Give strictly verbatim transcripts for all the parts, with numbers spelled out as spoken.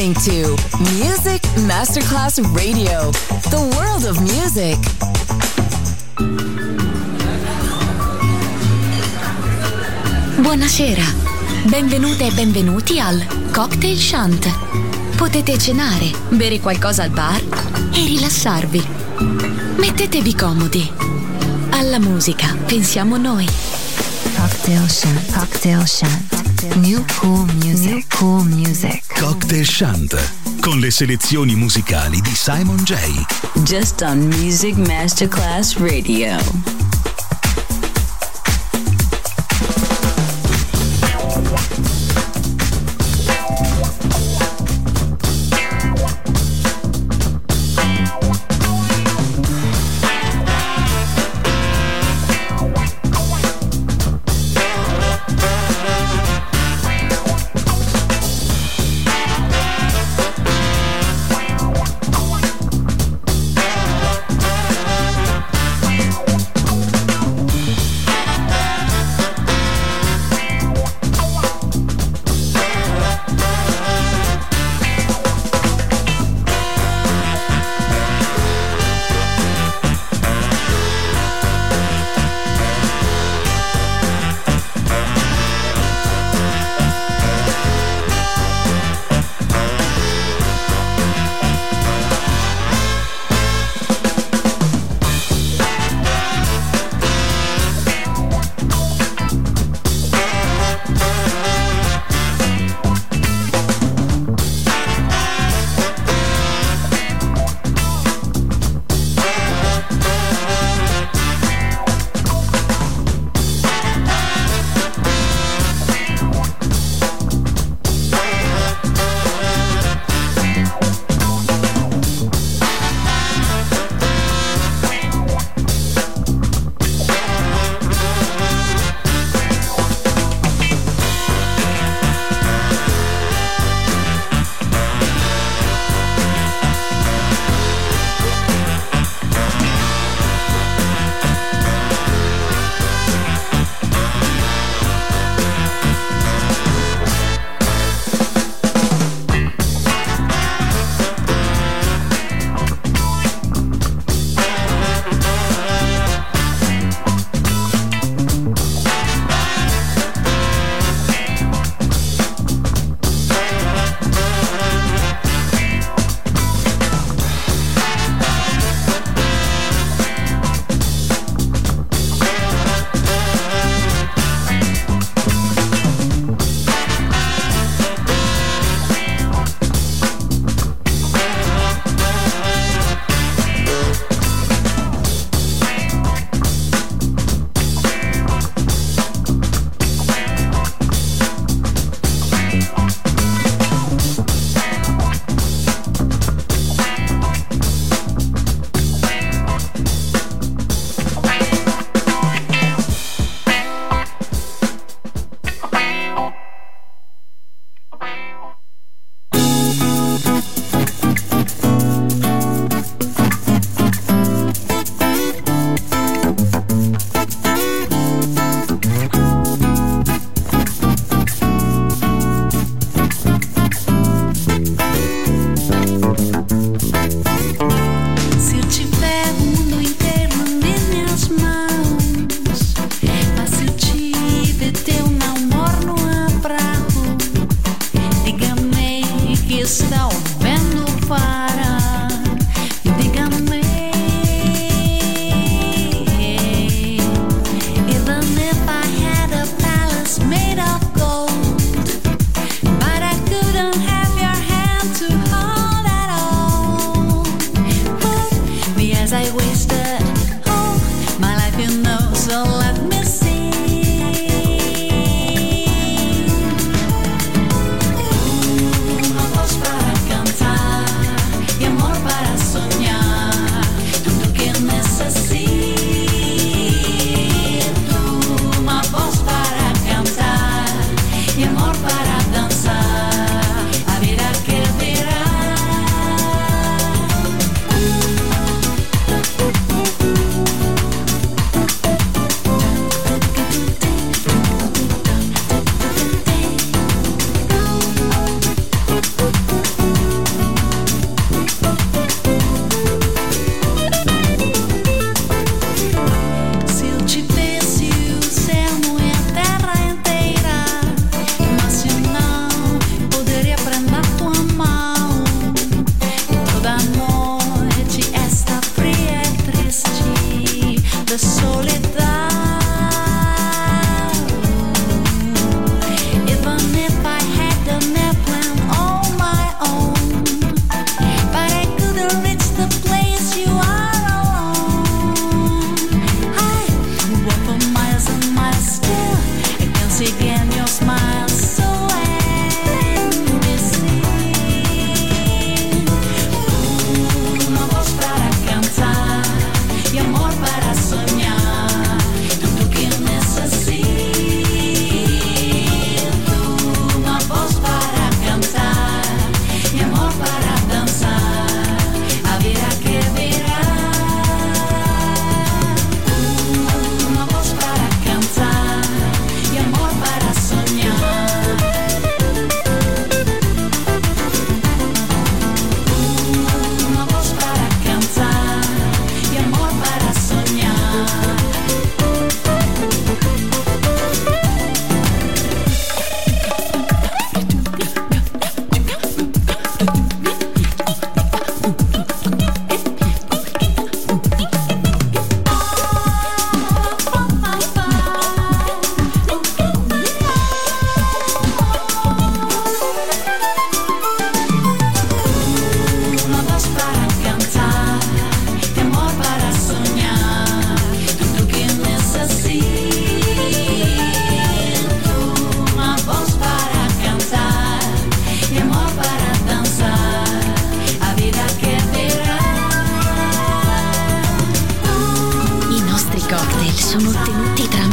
listening to Music Masterclass Radio, the world of music. Buonasera, benvenute e benvenuti al Cocktail Shant. Potete cenare, bere qualcosa al bar e rilassarvi. Mettetevi comodi. Alla musica pensiamo noi. Cocktail Shant, Cocktail Shant. New cool music, New cool music. Cocktail Shant, con le selezioni musicali di Simon J. Just on Music Masterclass Radio.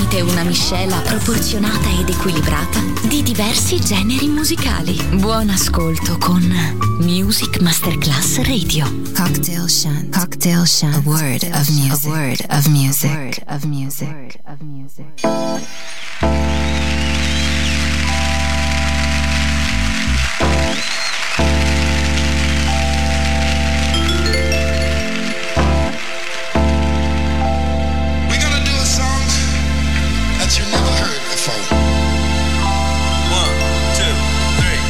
Sentite una miscela proporzionata ed equilibrata di diversi generi musicali. Buon ascolto con Music Masterclass Radio. Cocktail Shant. Cocktail Shant. A word of music. A word of music. A word of music. Of music. You never heard before. One, two, three.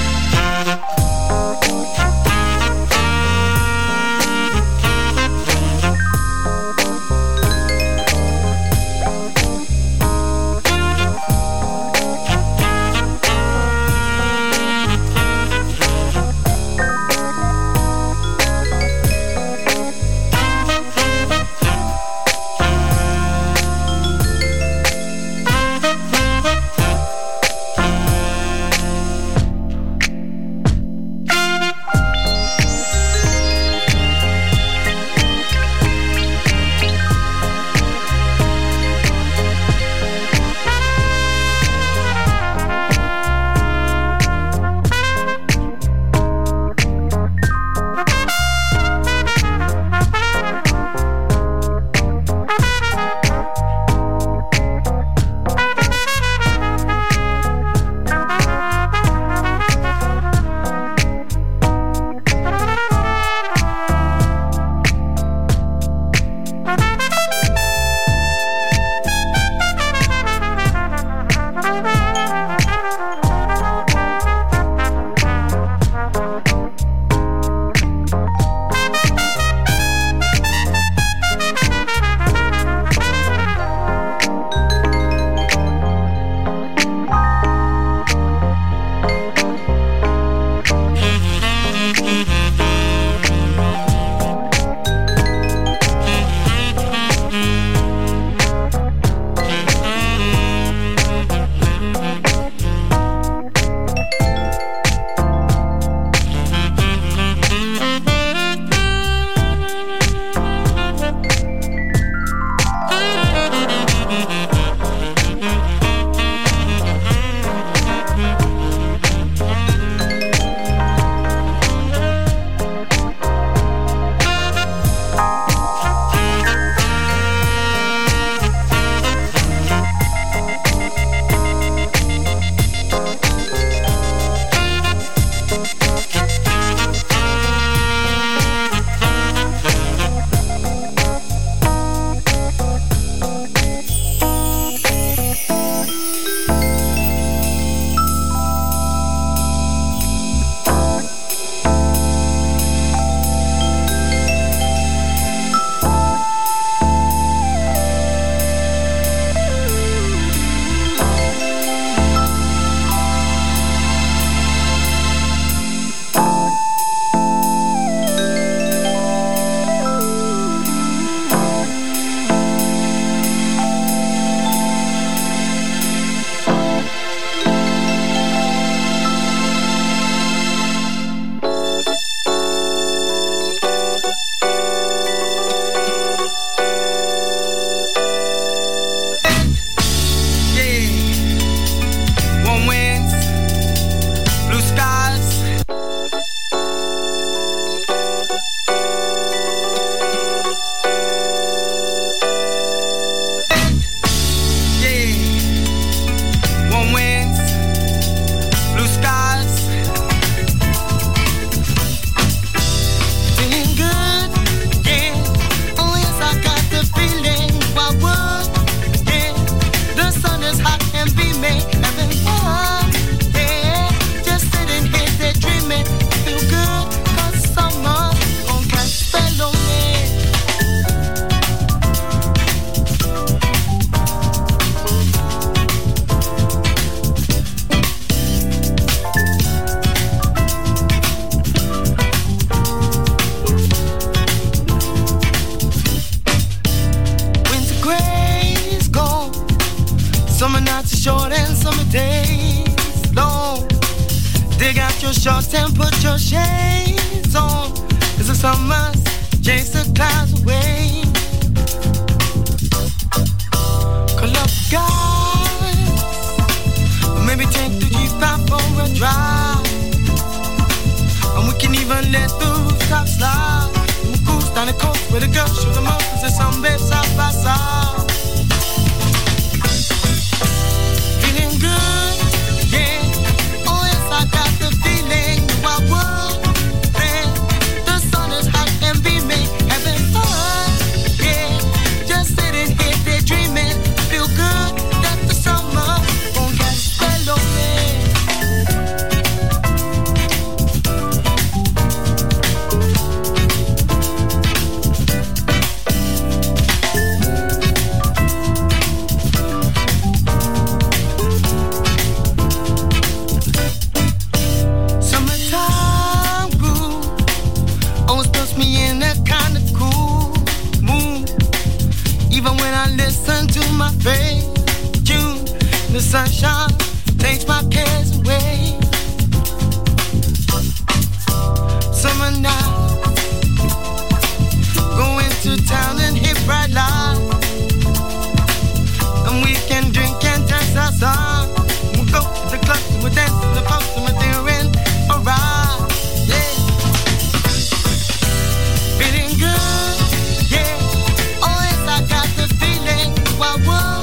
Summer nights are short and summer days long. Dig out your shorts and put your shades on. As the summers chase the clouds away. Call up God. Maybe take the Jeep out for a drive. And we can even let the rooftops slide. We'll cruise down the coast where the girls show the mountains and some babes side by side. Feeling good, yeah. Oh yes, I got the feeling. I would, man. The sun is hot and beaming, having fun, yeah. Just sitting here daydreaming. Feel good that the summer won't get spell on me. The sunshine takes my cares away. Summer night, go into town and hit bright light, and we can drink and dance outside. We'll go to the club, we'll dance to the pubs, and we're doing alright. Yeah, feeling good. Yeah, oh yes, I got the feeling. Why would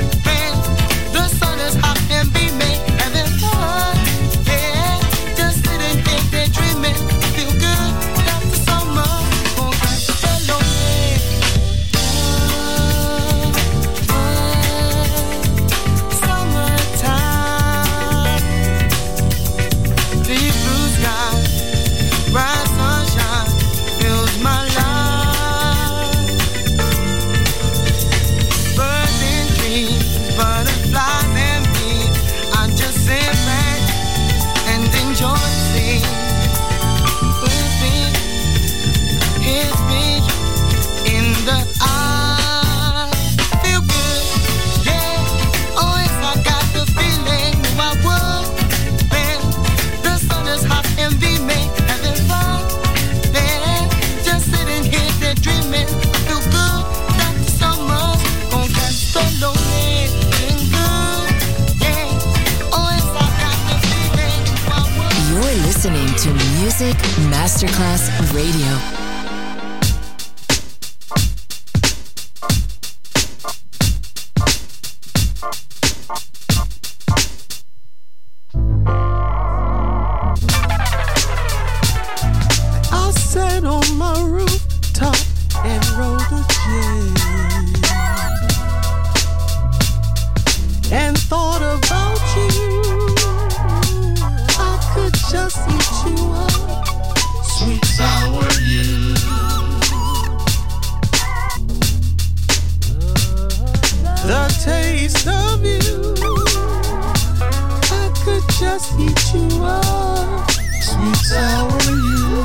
Music Masterclass Radio. I sat on my rooftop and rolled a J and thought about you. I could just eat you up, sweet sour you. The taste of you, I could just eat you up, sweet sour you.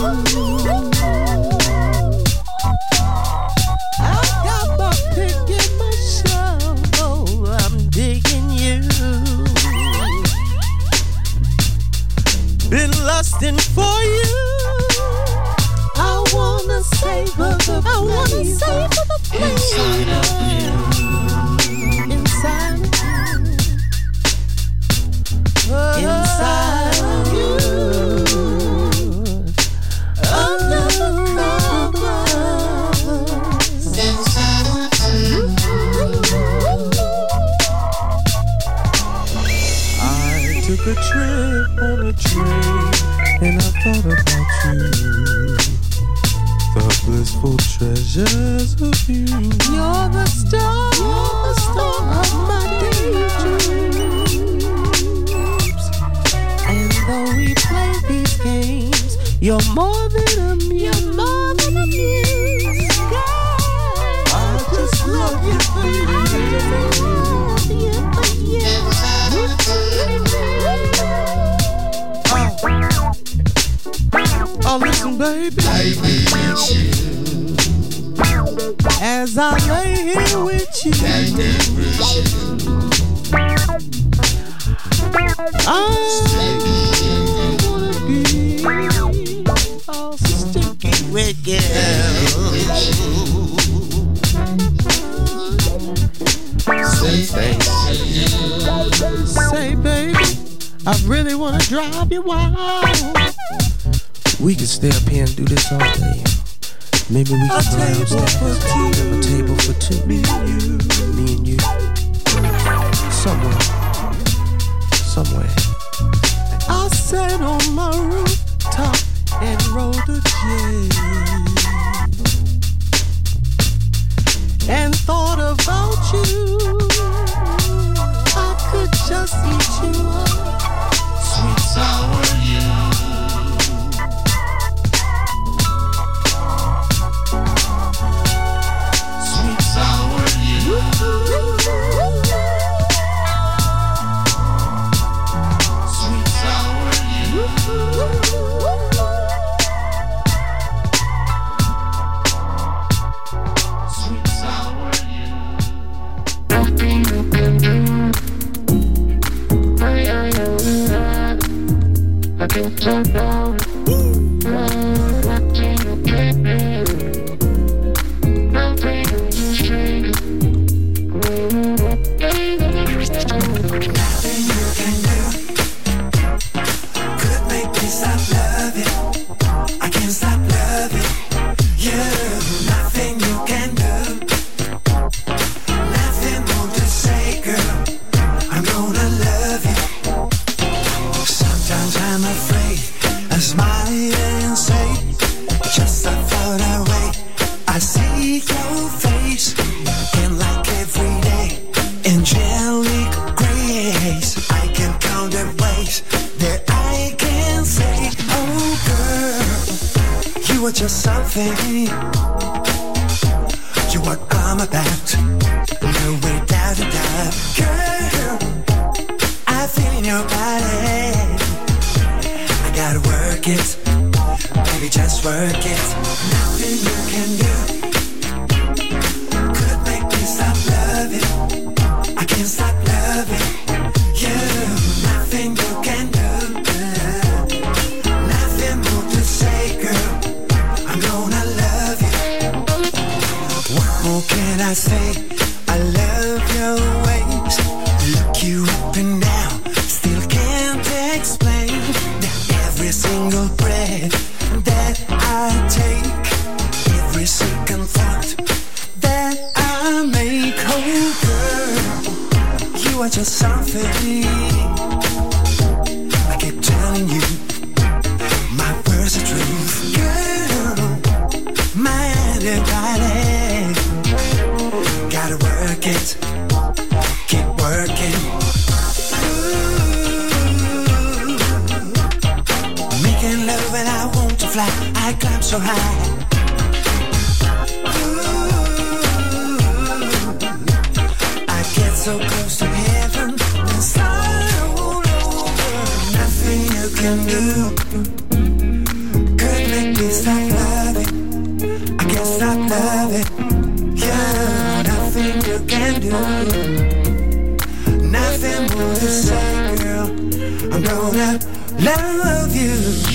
I got my pick and my shovel, I'm digging you. Been lusting for you. I wanna savor the I wanna savor the flavor inside of you. Inside of you. Inside of you. Under the covers. Inside of you. I took a trip on a train and I thought about you. The blissful treasures of you. You're the star, you're the star of my daydreams. And though we play these games, you're more than a muse. You're more than a muse. I just love you for you. I just love you for you. Oh, listen, baby. As I lay here with you, I wanna be all sticky with you. Say, baby. Say, baby. drive you wild. We could stay up here and do this all day. Maybe we could play downstairs. A table for two. Me and you. Me and you. Somewhere. Somewhere. I sat on my rooftop and rolled a J and thought about you. I could just eat you up, sweet sour you. Sweet sour you. Sweet sour you. Sweet sour you. I can't talk now. Just something you're what I'm about. No way down to doubt. Girl, I feel in your body. I gotta work it. Baby, just work it. Nothing you can do could make me stop loving. I can't stop loving you. Nothing you can do. Nothing more to say, girl. I'm gonna love you. What more can I say? I love your ways. Look you up and down. Still can't explain that every single breath that I take, every second thought that I make. Oh girl, you are just something. I keep telling you, my words are truth. Girl, my antibody. Gotta work it, keep working. Ooh, making love and I want to fly. I climb so high. Ooh, I get so close to heaven and start all over. Nothing you can do could make me stop loving. I can't stop loving. Yeah, nothing you can do. Nothing more to say, girl. I'm gonna love you.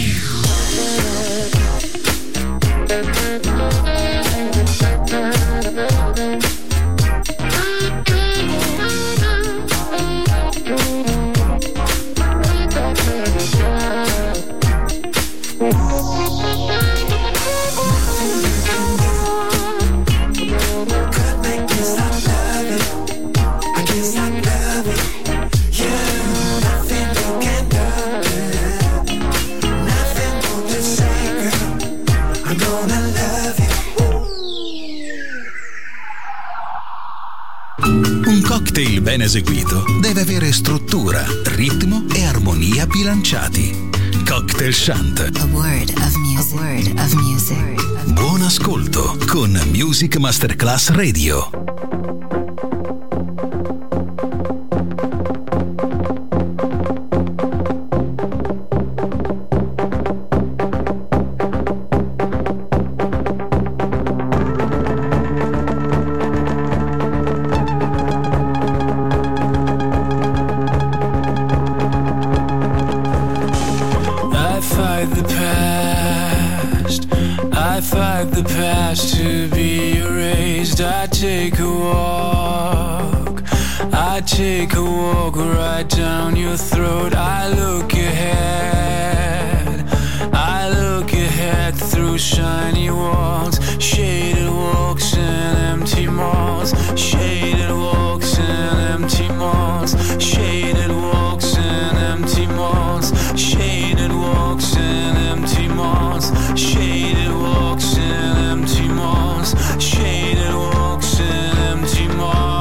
cocktail ben eseguito deve avere struttura, ritmo e armonia bilanciati. Cocktail Shant. A word of music. A word of music. Buon ascolto con Music Masterclass Radio. To be erased, I take a walk I take a walk right down your throat. I look ahead, I look ahead through shiny walls, shaded walks and empty malls, shaded walks and empty malls, shaded walks and empty malls, shaded walks and empty malls, shaded walks and empty malls, shaded walks and empty malls.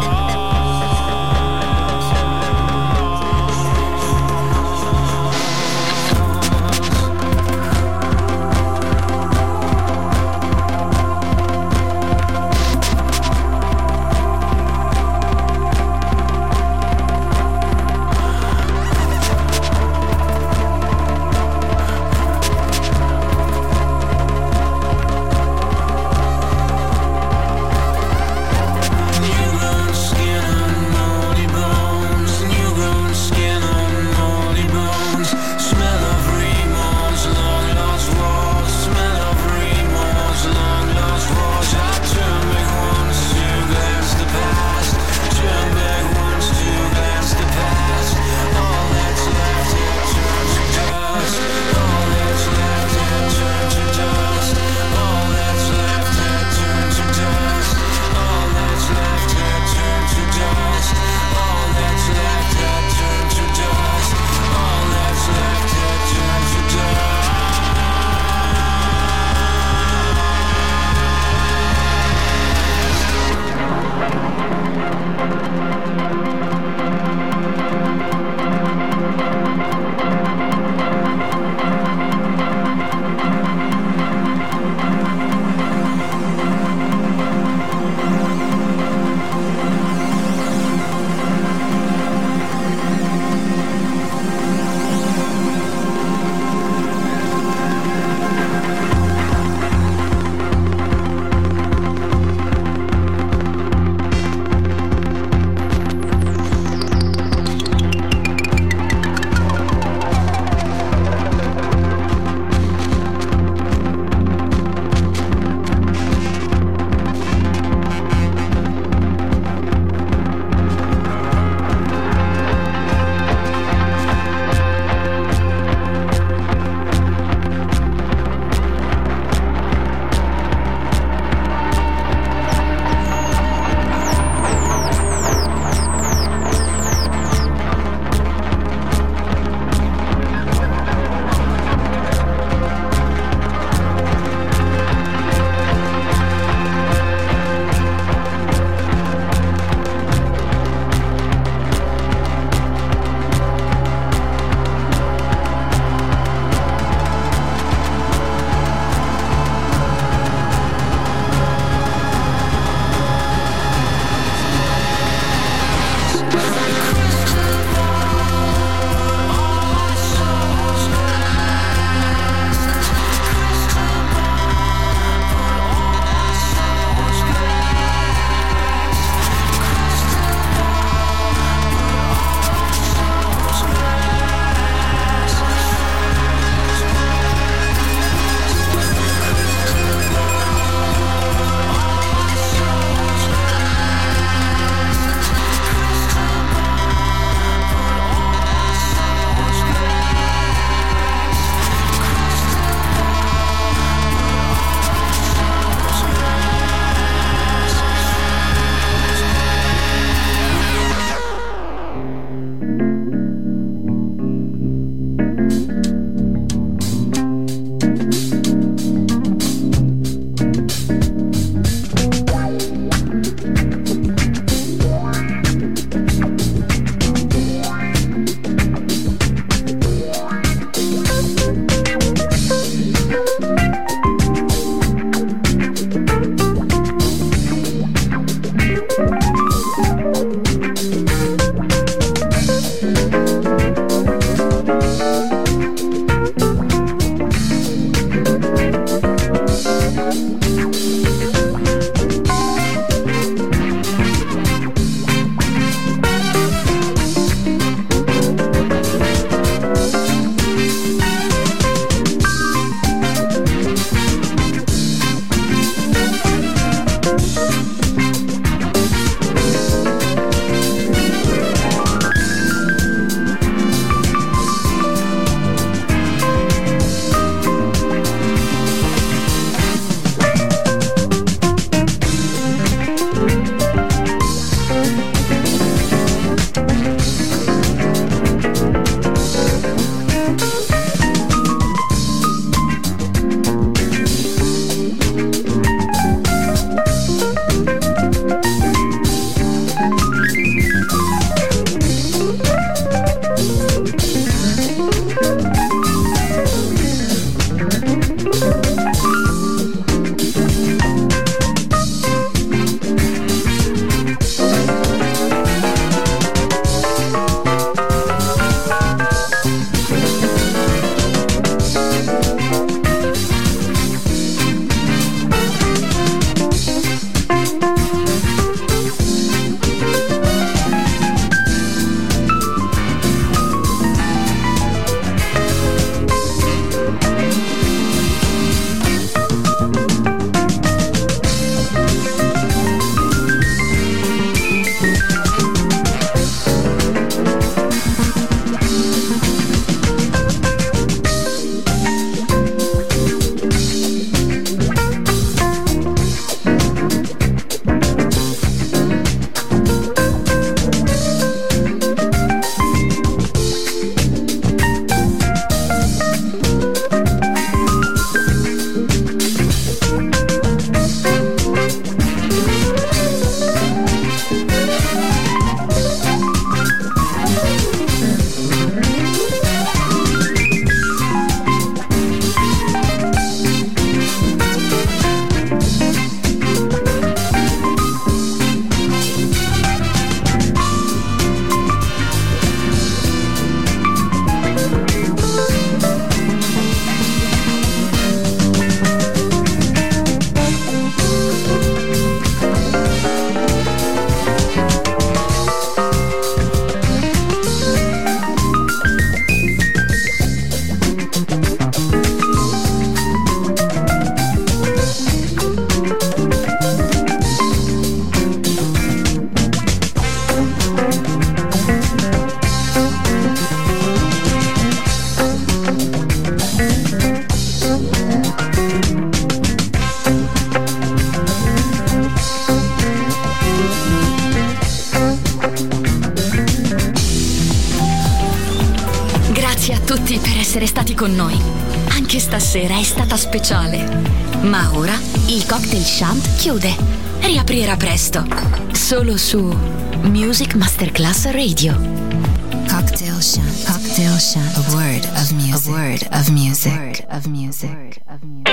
con noi. Anche stasera è stata speciale. Ma ora il Cocktail Shant chiude. Riaprirà presto. Solo su Music Masterclass Radio. Cocktail Shant. Cocktail Shant. A word of music. A word of music. A word of music.